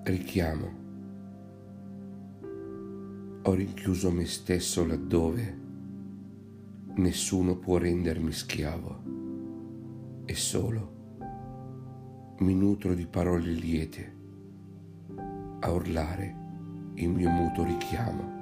Richiamo. Ho rinchiuso me stesso laddove nessuno può rendermi schiavo e solo mi nutro di parole liete a urlare il mio muto richiamo.